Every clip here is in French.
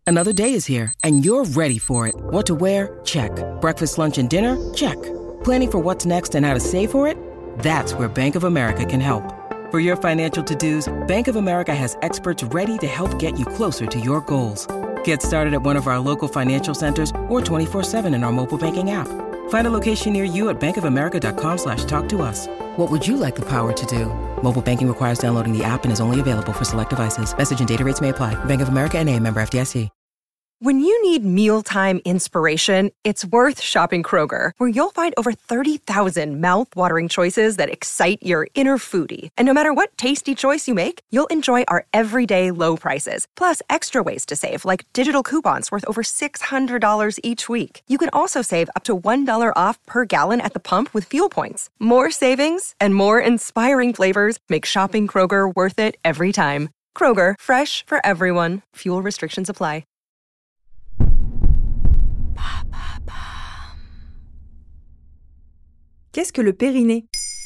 Another day is here, and you're ready for it. What to wear? Check. Breakfast, lunch, and dinner? Check. Planning for what's next and how to save for it? That's where Bank of America can help. For your financial to-dos, Bank of America has experts ready to help get you closer to your goals. Get started at one of our local financial centers or 24/7 in our mobile banking app. Find a location near you at bankofamerica.com/talktous. What would you like the power to do? Mobile banking requires downloading the app and is only available for select devices. Message and data rates may apply. Bank of America N.A., member FDIC. When you need mealtime inspiration, it's worth shopping Kroger, where you'll find over 30,000 mouth-watering choices that excite your inner foodie. And no matter what tasty choice you make, you'll enjoy our everyday low prices, plus extra ways to save, like digital coupons worth over $600 each week. You can also save up to $1 off per gallon at the pump with fuel points. More savings and more inspiring flavors make shopping Kroger worth it every time. Kroger, fresh for everyone. Fuel restrictions apply. Qu'est-ce que le périnée ?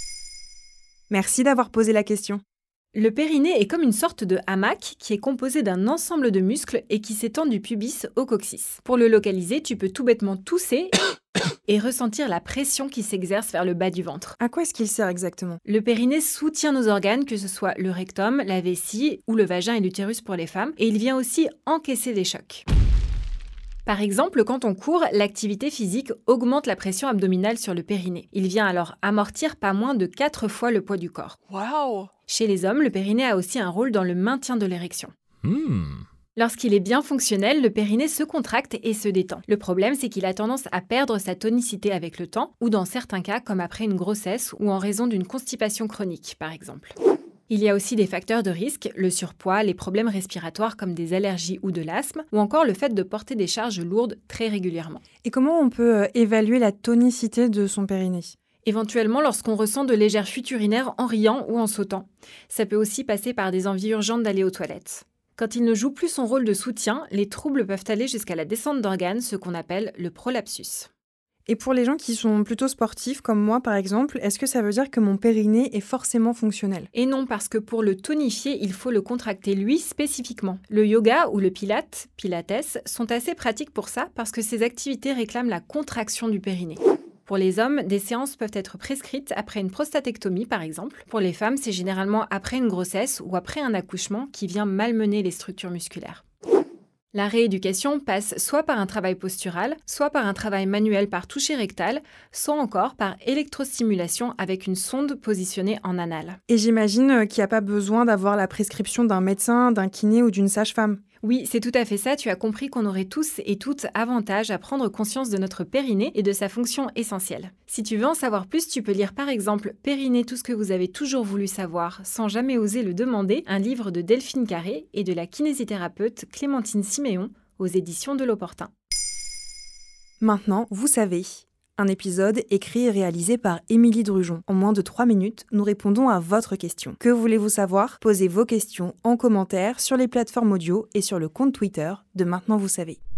Merci d'avoir posé la question. Le périnée est comme une sorte de hamac qui est composé d'un ensemble de muscles et qui s'étend du pubis au coccyx. Pour le localiser, tu peux tout bêtement tousser et ressentir la pression qui s'exerce vers le bas du ventre. À quoi est-ce qu'il sert exactement ? Le périnée soutient nos organes, que ce soit le rectum, la vessie ou le vagin et l'utérus pour les femmes, et il vient aussi encaisser des chocs. Par exemple, quand on court, l'activité physique augmente la pression abdominale sur le périnée. Il vient alors amortir pas moins de 4 fois le poids du corps. Waouh! Chez les hommes, le périnée a aussi un rôle dans le maintien de l'érection. Lorsqu'il est bien fonctionnel, le périnée se contracte et se détend. Le problème, c'est qu'il a tendance à perdre sa tonicité avec le temps, ou dans certains cas, comme après une grossesse ou en raison d'une constipation chronique, par exemple. Il y a aussi des facteurs de risque, le surpoids, les problèmes respiratoires comme des allergies ou de l'asthme, ou encore le fait de porter des charges lourdes très régulièrement. Et comment on peut évaluer la tonicité de son périnée ? Éventuellement lorsqu'on ressent de légères fuites urinaires en riant ou en sautant. Ça peut aussi passer par des envies urgentes d'aller aux toilettes. Quand il ne joue plus son rôle de soutien, les troubles peuvent aller jusqu'à la descente d'organes, ce qu'on appelle le prolapsus. Et pour les gens qui sont plutôt sportifs, comme moi par exemple, est-ce que ça veut dire que mon périnée est forcément fonctionnel ? Et non, parce que pour le tonifier, il faut le contracter lui spécifiquement. Le yoga ou le pilates sont assez pratiques pour ça parce que ces activités réclament la contraction du périnée. Pour les hommes, des séances peuvent être prescrites après une prostatectomie par exemple. Pour les femmes, c'est généralement après une grossesse ou après un accouchement qui vient malmener les structures musculaires. La rééducation passe soit par un travail postural, soit par un travail manuel par toucher rectal, soit encore par électrostimulation avec une sonde positionnée en anal. Et j'imagine qu'il n'y a pas besoin d'avoir la prescription d'un médecin, d'un kiné ou d'une sage-femme. Oui, c'est tout à fait ça, tu as compris qu'on aurait tous et toutes avantage à prendre conscience de notre périnée et de sa fonction essentielle. Si tu veux en savoir plus, tu peux lire par exemple « Périnée, tout ce que vous avez toujours voulu savoir sans jamais oser le demander », un livre de Delphine Carré et de la kinésithérapeute Clémentine Siméon aux éditions de l'Opportun. Maintenant, vous savez. Un épisode écrit et réalisé par Émilie Drujon. En moins de 3 minutes, nous répondons à votre question. Que voulez-vous savoir ? Posez vos questions en commentaire sur les plateformes audio et sur le compte Twitter de Maintenant Vous Savez.